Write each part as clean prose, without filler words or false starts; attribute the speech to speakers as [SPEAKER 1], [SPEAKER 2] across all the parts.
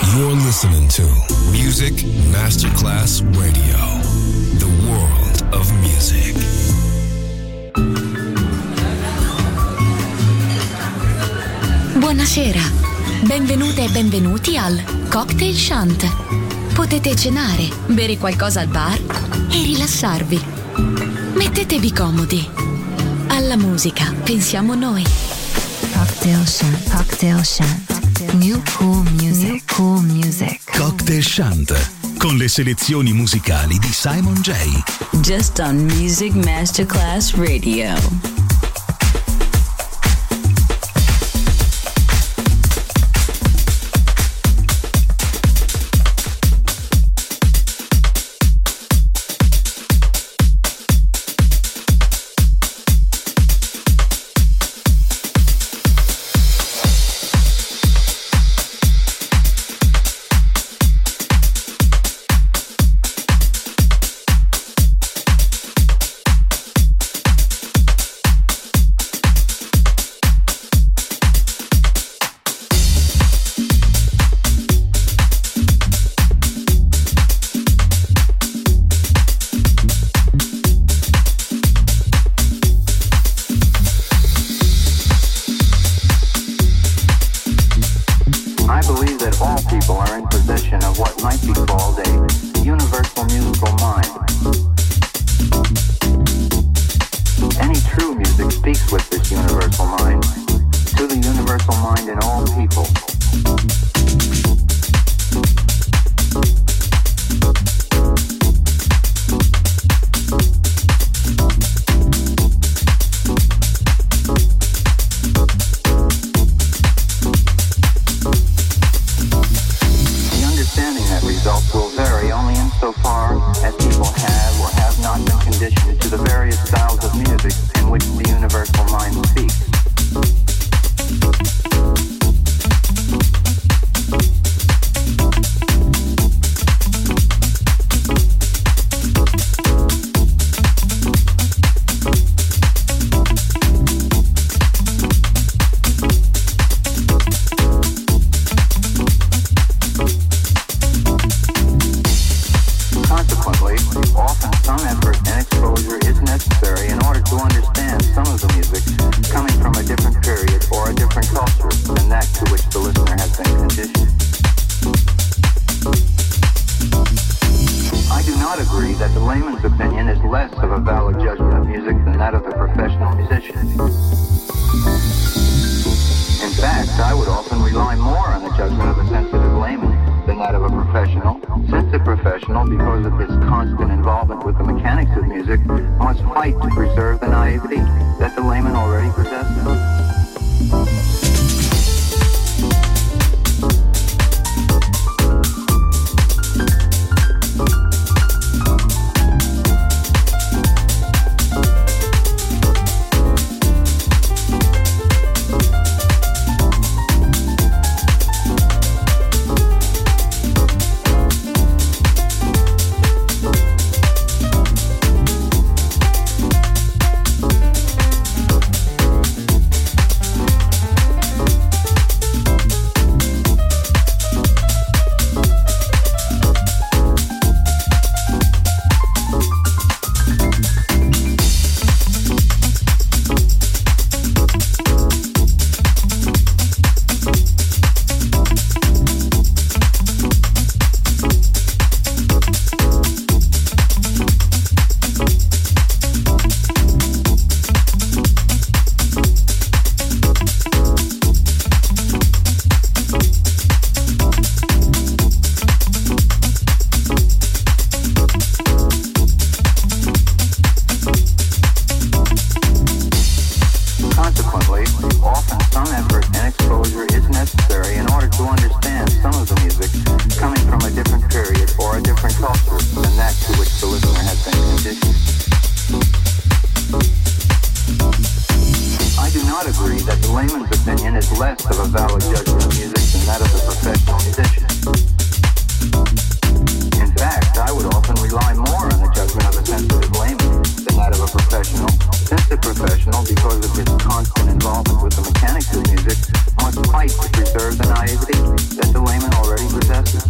[SPEAKER 1] You're listening to Music Masterclass Radio, the world of music.
[SPEAKER 2] Buonasera, benvenute e benvenuti al Cocktail Shant. Potete cenare, bere qualcosa al bar e rilassarvi. Mettetevi comodi. Alla musica pensiamo noi.
[SPEAKER 3] Cocktail Shant, Cocktail Shant. New cool music, New cool music.
[SPEAKER 4] Cocktail Shant, con le selezioni musicali di Simon J.
[SPEAKER 5] Just on Music Masterclass Radio.
[SPEAKER 6] naivety that the layman already possesses?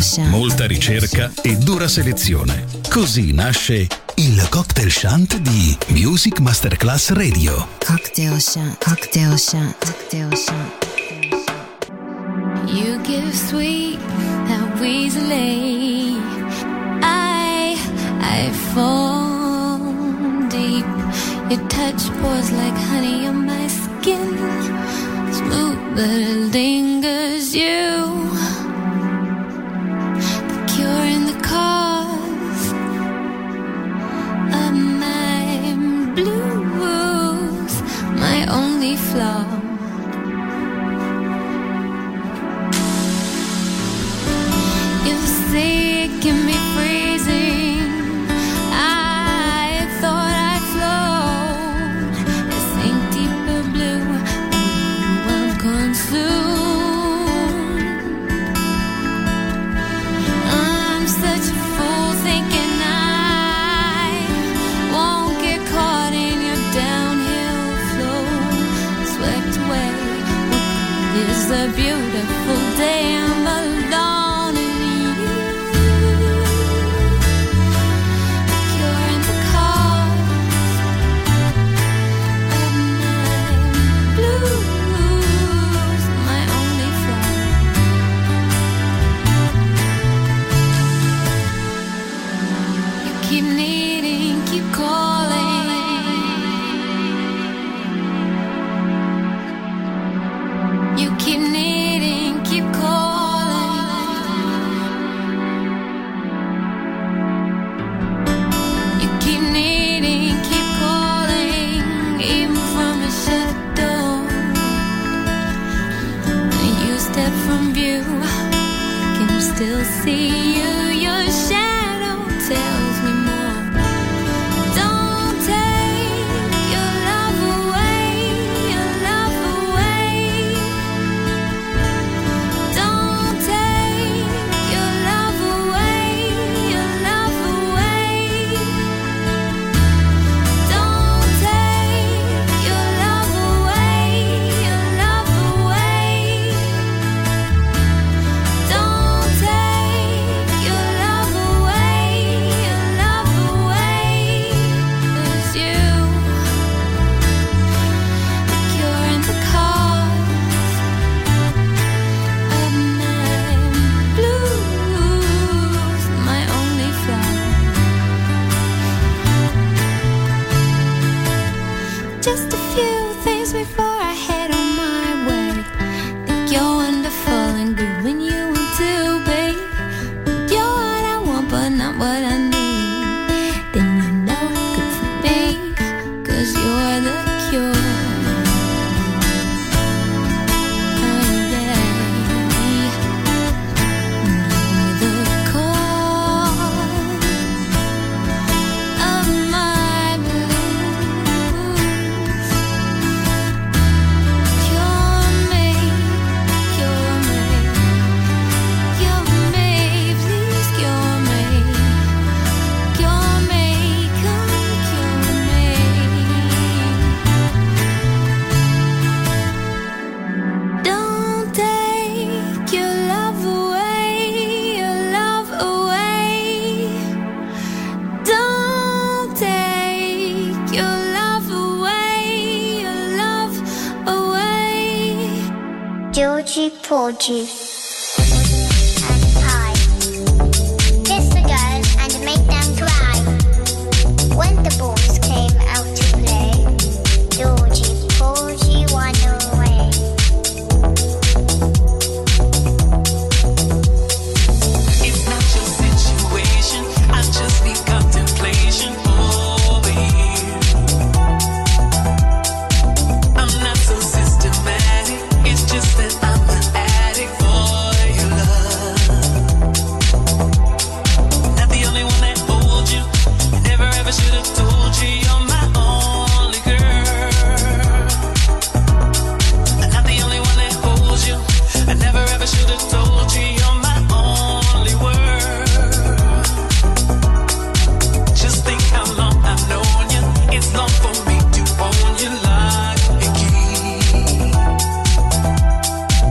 [SPEAKER 4] molta ricerca e dura selezione. Così nasce il Cocktail Shant di Music Masterclass Radio.
[SPEAKER 3] Cocktail Shant, Cocktail Shant, Cocktail Shant.
[SPEAKER 7] You give sweet that easily. I fall deep. Your touch pours like honey on my skin. Smooth but it lingers. You, the cure and the cause of my blues, my only flaw. You say it can be freezing. I thought I'd float. This ain't deeper blue. I'm consumed. I'm such a fool thinking I won't get caught in your downhill flow. Swept away. It's a beautiful day. I'm alone. Keep needing, keep calling. You keep needing, keep calling. You keep needing, keep calling. Even from a shut door. When you step from view, can you still see you? Your shadow tells me more. Don't take your love away, your love away. Don't take your love away, your love away. Don't take your love away, your love away. Don't take your love away, your love away. 'Cause you, the cure and the cause of my blues, my only flaw. Just a few things before I head on my way. Think you're wonderful and good when you want to be. You're what I want but not what I need. Then you know good for me, 'cause you're the cure. Oh yeah. You're the cause of my blues. Cure me, cure me, cure me, please cure me. Cure me, come cure me. Don't take your love away, your love away. Don't take your love away, your love away.
[SPEAKER 8] Georgie Porgy and Pie. Kiss the girls and make them cry. When the boys came out to play, Georgie Porgy won away.
[SPEAKER 9] It's not your situation, I just need contemplation over you. I'm not so systematic, it's just that I'm an addict for your love. Not the only one that holds you, I never ever should have told you you're my only girl. I'm not the only one that holds you, I never ever should have told you you're my only world. Just think how long I've known you, it's long for me to own you like a key.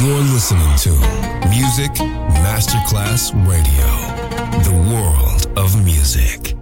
[SPEAKER 1] You're listening to Music Masterclass Radio, the world of music.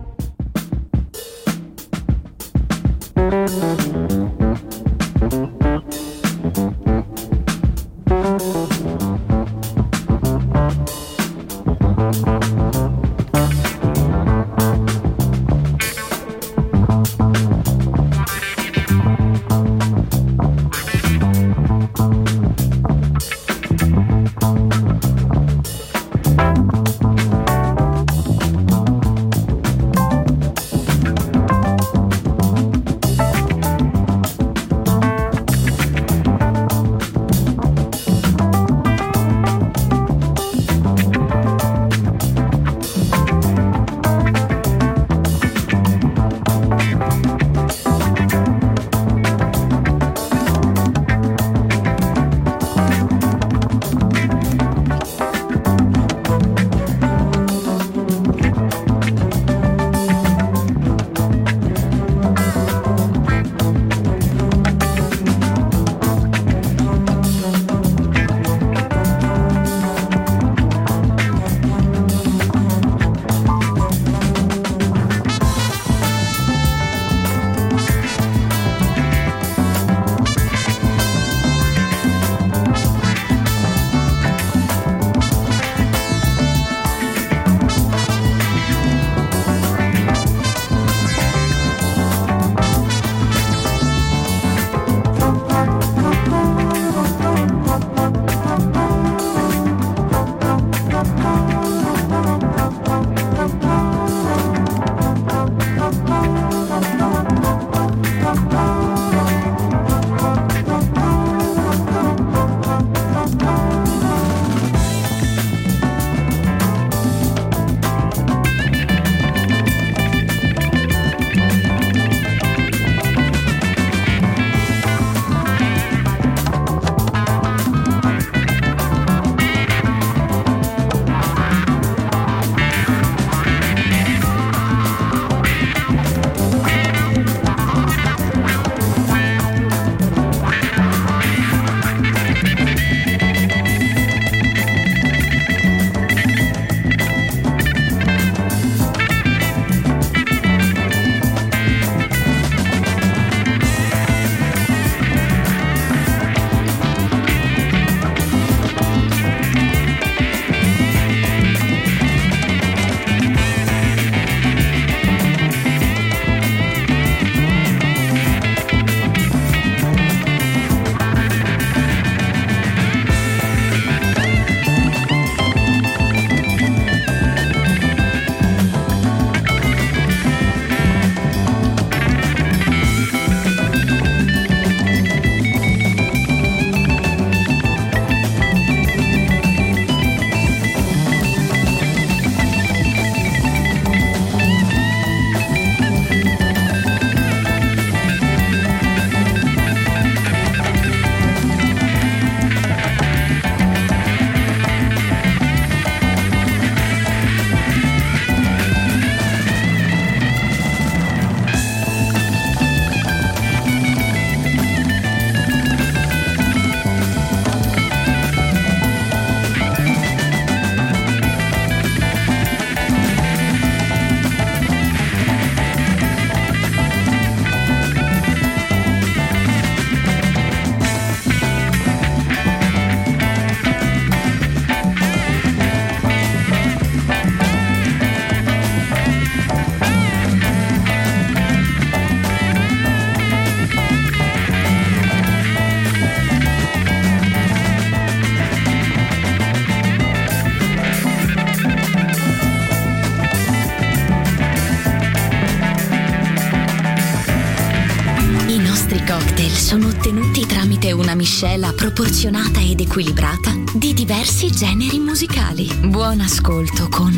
[SPEAKER 2] sono ottenuti tramite una miscela proporzionata ed equilibrata di diversi generi musicali. Buon ascolto con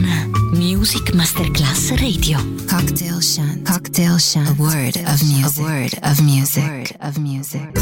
[SPEAKER 2] Music Masterclass Radio.
[SPEAKER 3] Cocktail Shant. Cocktail Shant. A word of music. A word of music. A word of music.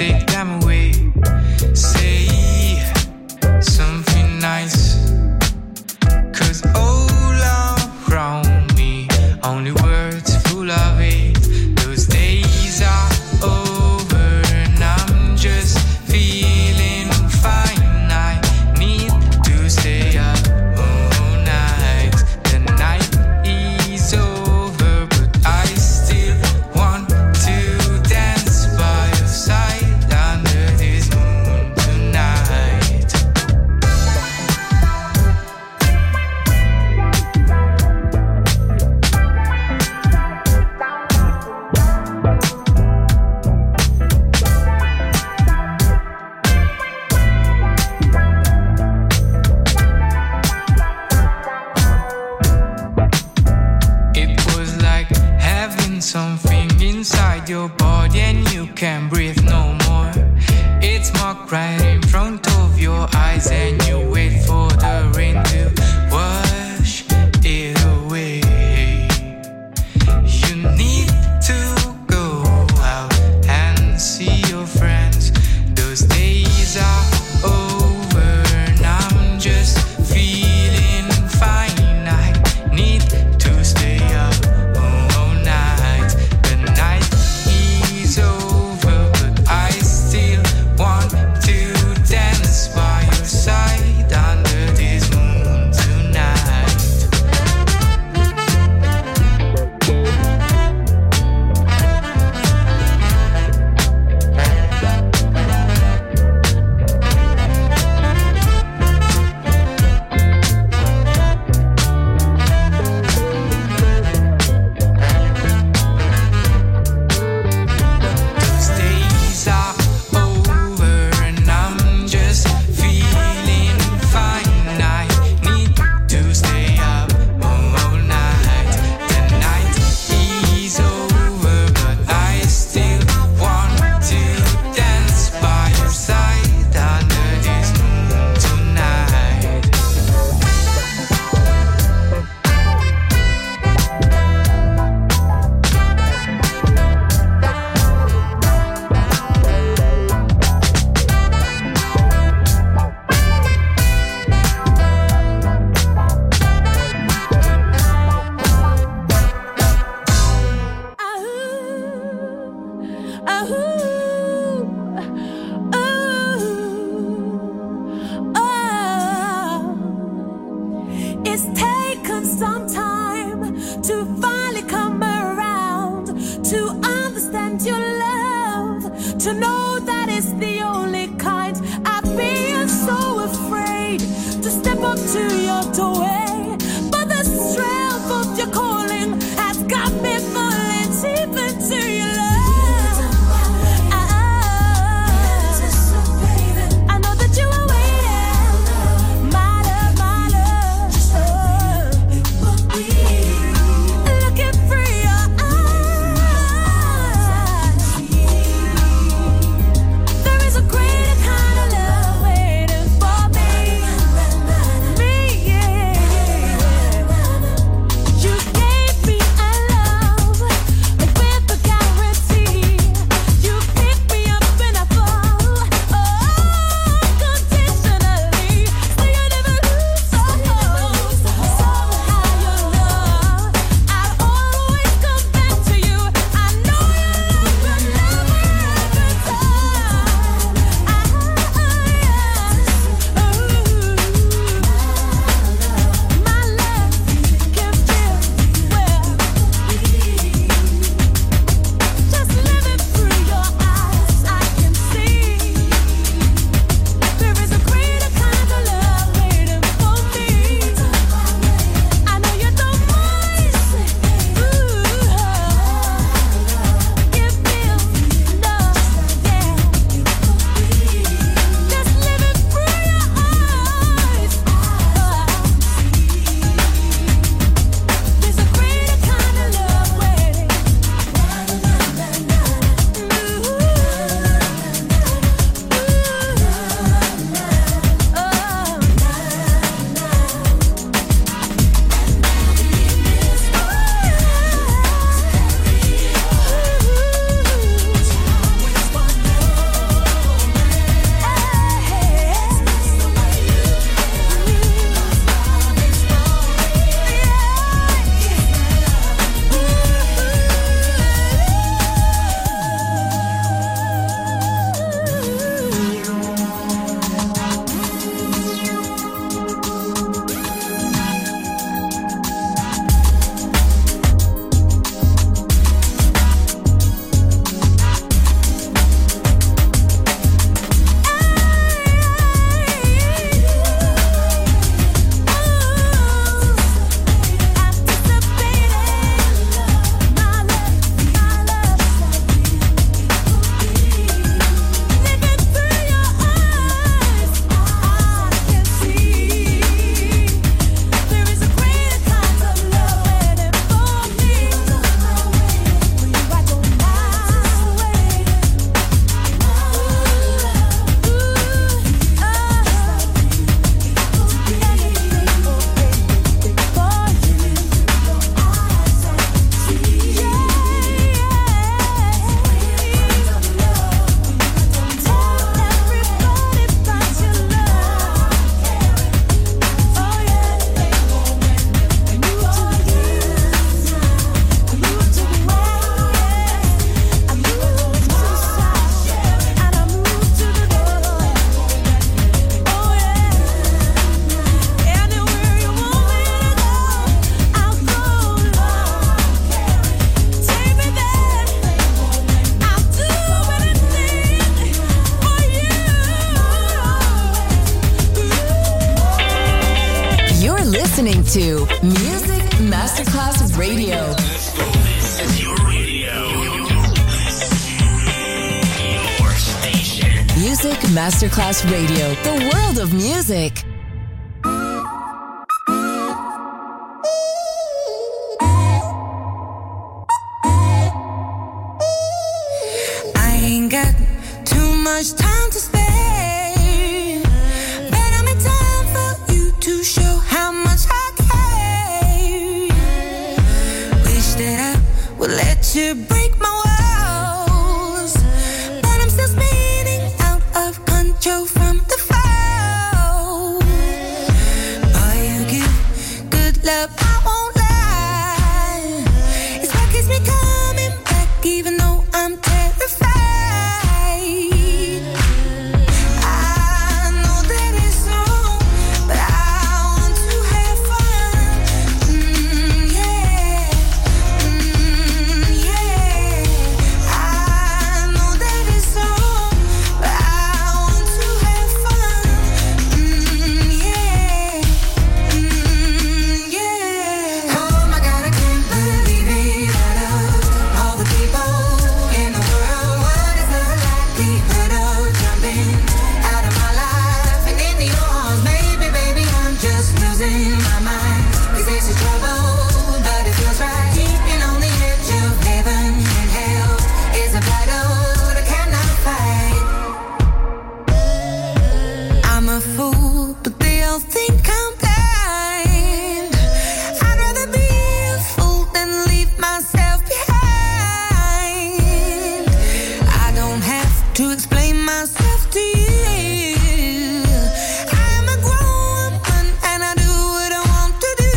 [SPEAKER 10] take them away. Say something nice, 'cause all around me only words full of hate. Those days are over and I'm just feeling fine. I need to stay up all night. The night is over, but I still want to dance by your side under this moon tonight. It was like having something inside your body and you can't breathe no more. It's marked right in front of your eyes and you wait for the rain to wash it away. You need to go out and see your friends. Those days are over and I'm just feeling fine. I need to stay up all night. The night is over, but I still want to dance by your side under this moon tonight. Those days are over and I'm just feeling fine. I need to stay up all night. The night is over, but I still want to dance by your side under this moon tonight.
[SPEAKER 11] It's taken some time to finally come around, to understand your love, to know that it's the only kind. I've been so afraid to step up to your doorway, but the strength of your calling has got me falling deep into your love. I know that you are waiting, my love, my love. Looking through your eyes, there is a greater kind of love waiting for me, yeah.
[SPEAKER 12] listening to Music Masterclass Radio.
[SPEAKER 1] This is your radio. Your station.
[SPEAKER 12] Music Masterclass Radio. The world of music.
[SPEAKER 11] I ain't got too much time to spare, but I'm in time for you to show how much I care. Wish that I would let you break my walls, but I'm still spinning out of control from the fall. Boy, you give good love, I won't lie. It's what keeps me coming back, even though I'm terrified. I know that it's wrong, but I want to have fun. Yeah, yeah. I know that it's wrong, but I want to have fun. Yeah, yeah. Oh my God, I can't believe it. Out of all the people in the world, what is the likelihood of jumping out of my life and into your arms? Maybe, baby, I'm just losing my mind. 'Cause this is trouble, but it feels right. Keeping on the edge of heaven and hell is a battle that cannot fight. I'm a fool, but they all think I'm blind. I'd rather be a fool than leave myself behind. I don't have to explain myself to you. I'm a grown woman and I do what I want to do.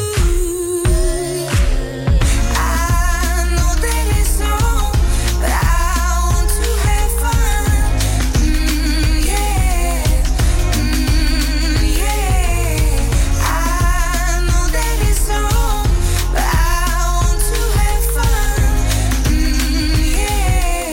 [SPEAKER 11] I know that it's wrong, but I want to have fun. Yeah, yeah. I know that it's wrong, but I want to have fun. Yeah,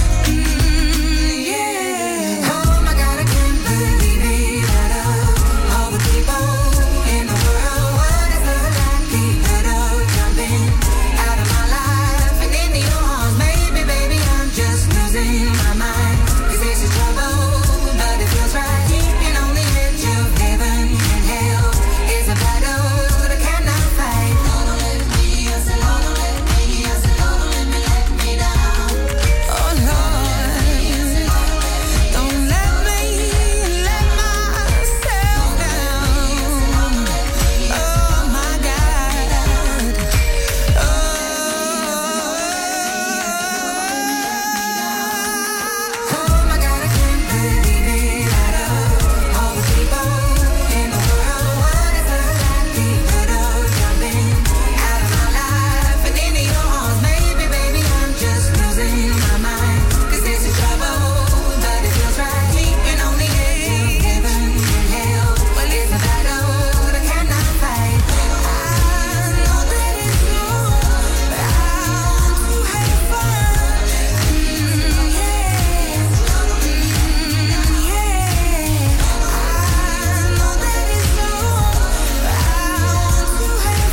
[SPEAKER 11] yeah. Oh my God, I can't believe it. Out of all the people in the world, what is the likelihood of jumping out of my life and into your arms? Maybe, baby, I'm just losing my mind. 'Cause this is trouble, but it feels right. Keeping on the edge of heaven and hell is a battle that I cannot fight. Lord, don't let me, I said, Lord, don't let me, I said, Lord, don't let me down. Oh Lord, don't let me let myself down. Oh my God. Oh my God, I can't believe it. Out of all the people in the world, what is the likelihood of jumping out of my life and into your arms? Maybe, baby, I'm just losing my mind. 'Cause this is trouble, but it feels right. Keeping on the edge of heaven and hell. Well, it's a battle that cannot fight. I know that it's wrong, but I want to have fun. Yeah, yeah. I know that it's wrong, but I want to have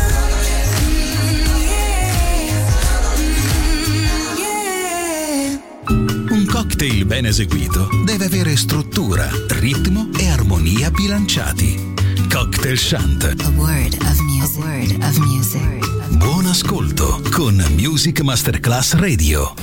[SPEAKER 11] fun. Yeah, yeah.
[SPEAKER 4] Un cocktail ben eseguito deve avere struttura, ritmo e armonia bilanciati. Cocktail Shant.
[SPEAKER 3] A word of music. A word of music.
[SPEAKER 4] Buon ascolto con Music Masterclass Radio.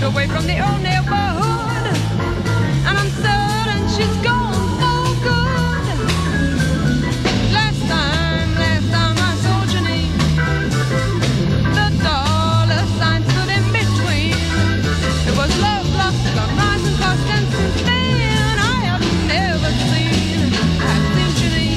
[SPEAKER 13] away from the old neighborhood, and I'm certain she's gone for good. Last time I saw Janine, the dollar sign stood in between. It was love, lust, gone rising fast, and since then I have never seen Janine.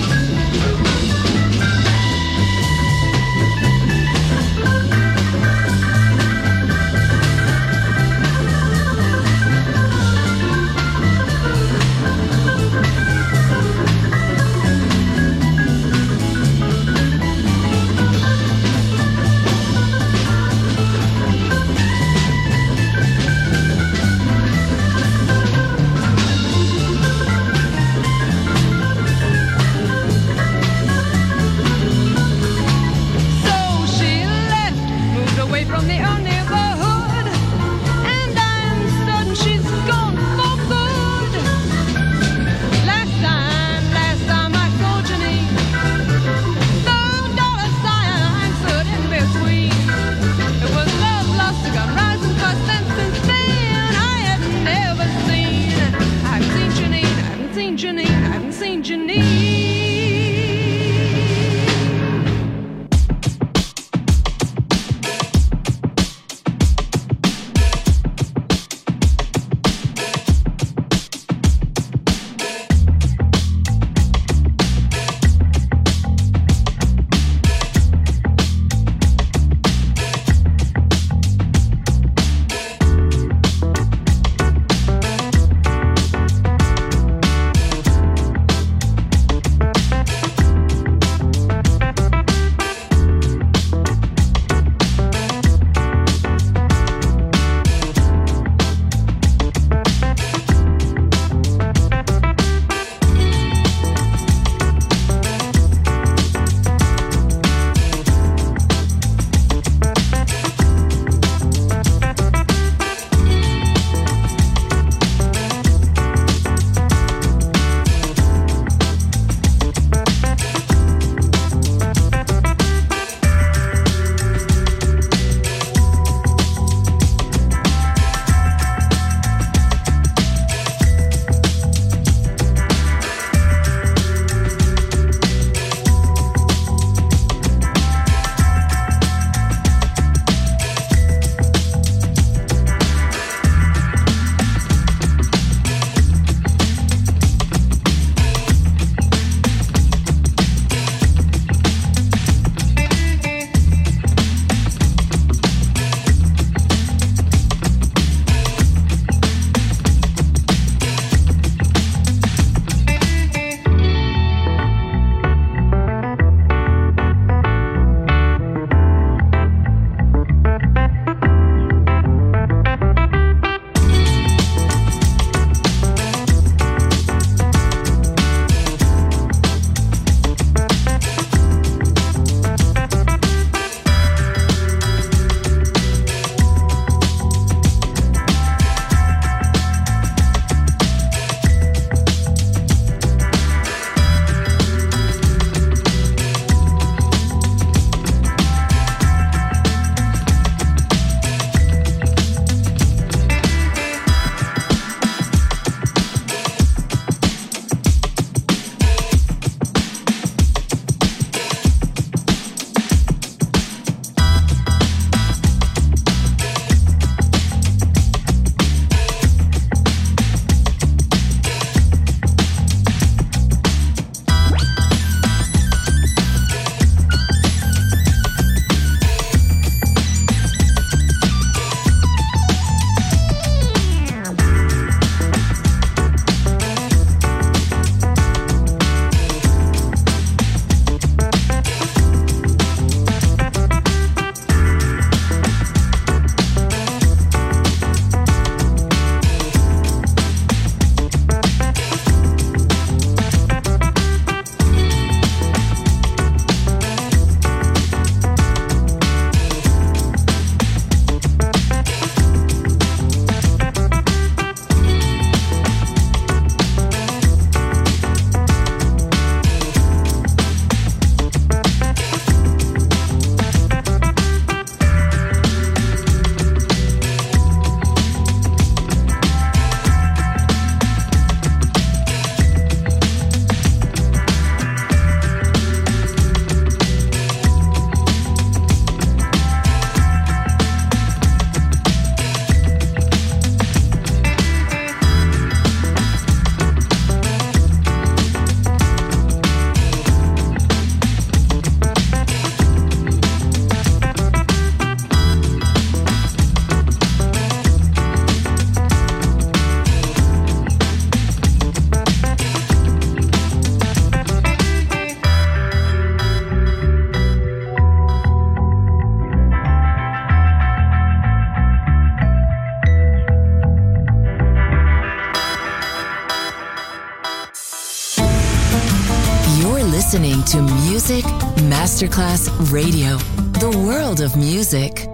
[SPEAKER 12] listening to Music Masterclass Radio, the world of music.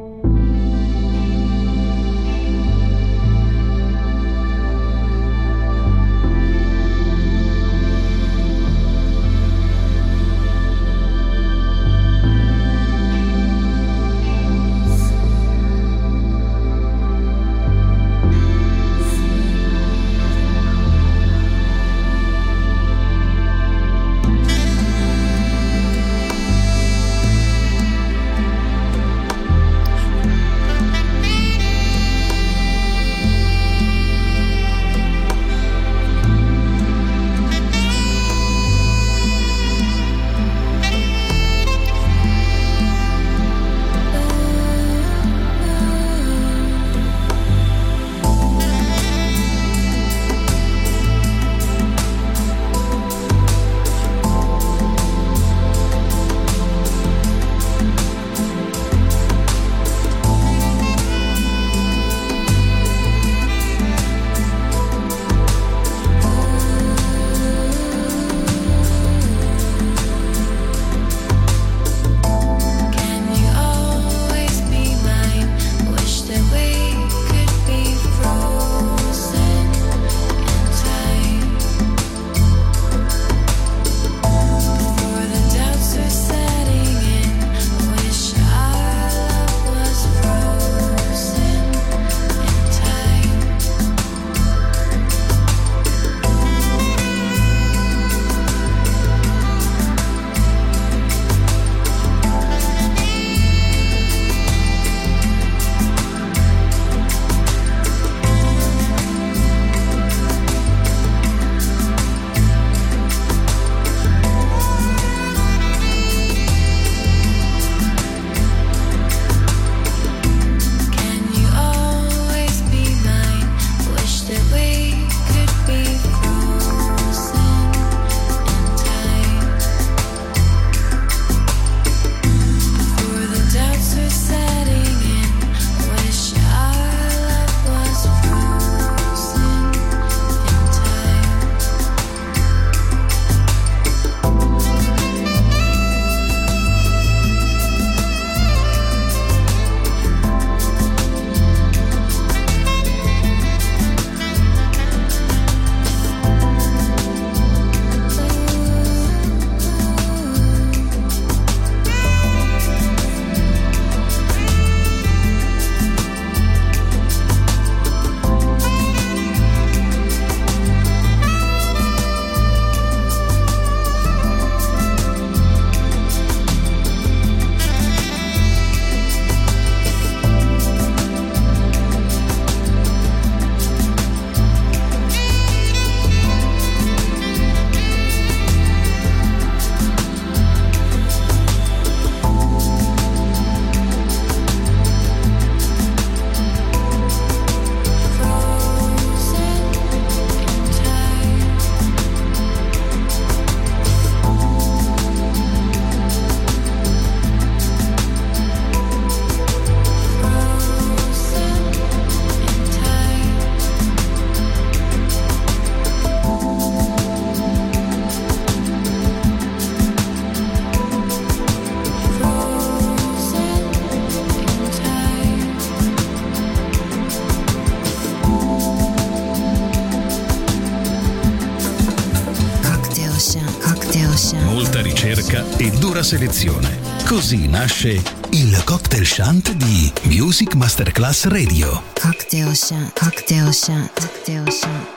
[SPEAKER 4] Molta ricerca e dura selezione. Così nasce il Cocktail Shant di Music Masterclass Radio.
[SPEAKER 3] Cocktail Shant, Cocktail Shant, Cocktail Shant.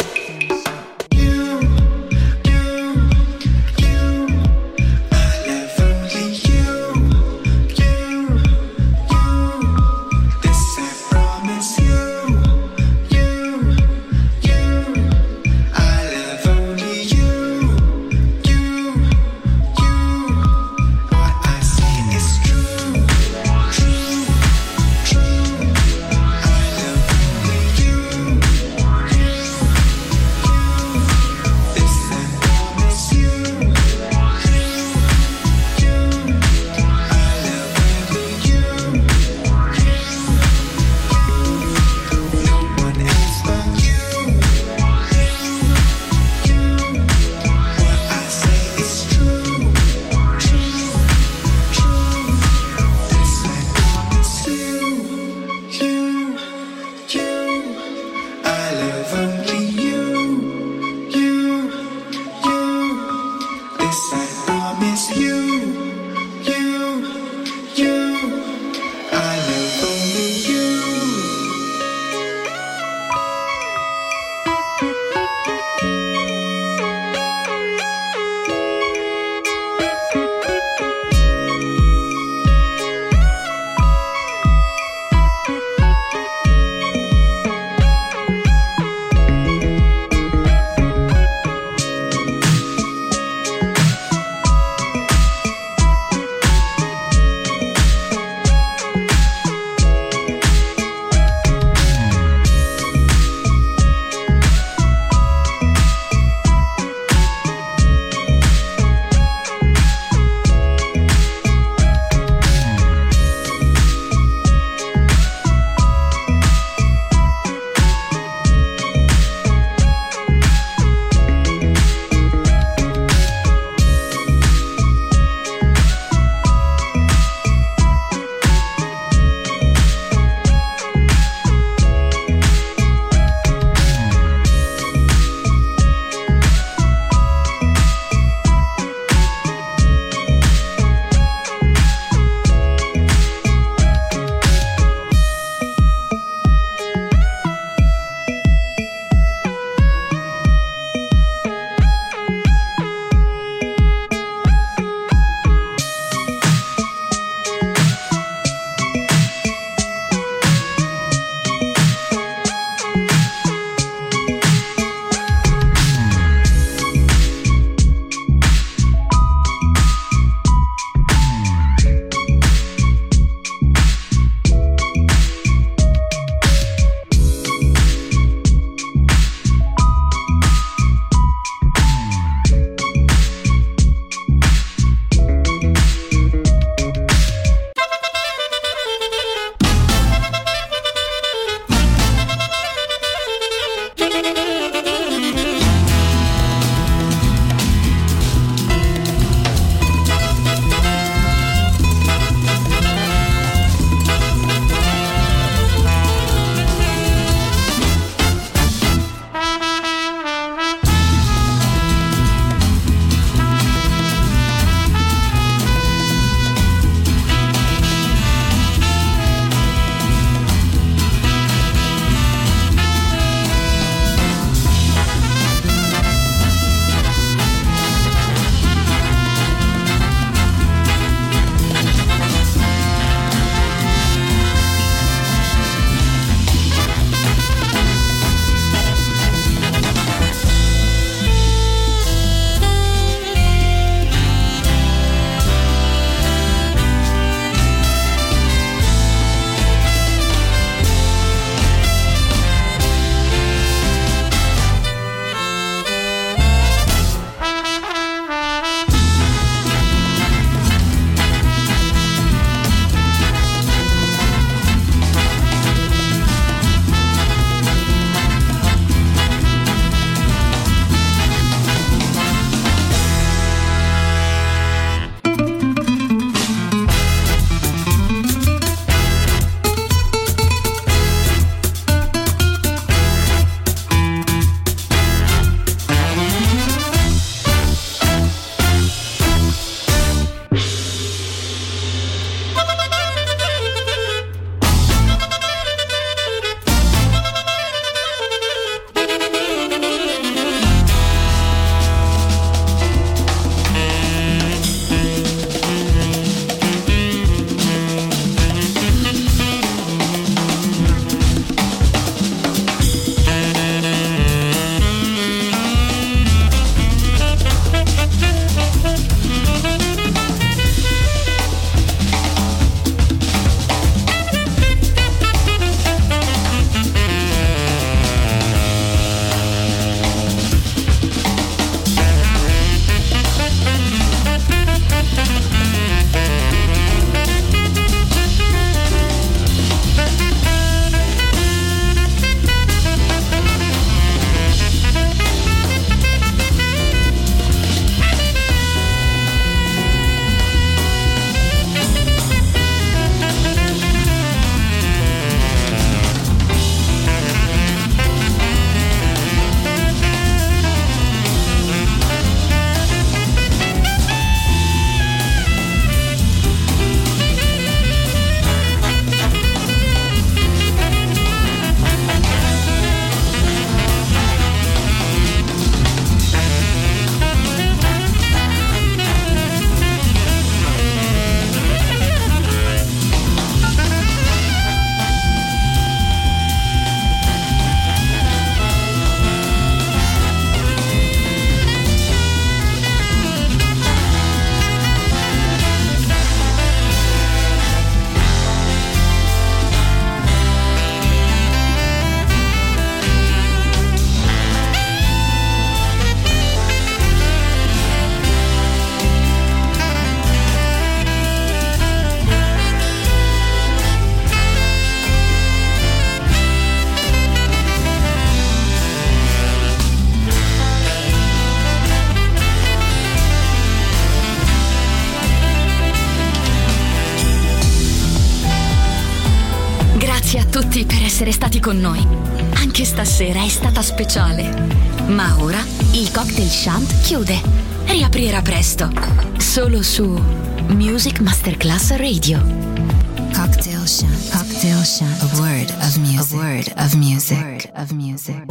[SPEAKER 2] tutti per essere stati con noi. Anche stasera è stata speciale. Ma ora il Cocktail Shant chiude. Riaprirà presto. Solo su Music Masterclass Radio.
[SPEAKER 3] Cocktail Shant. Cocktail Shant. A word of music. A word of music.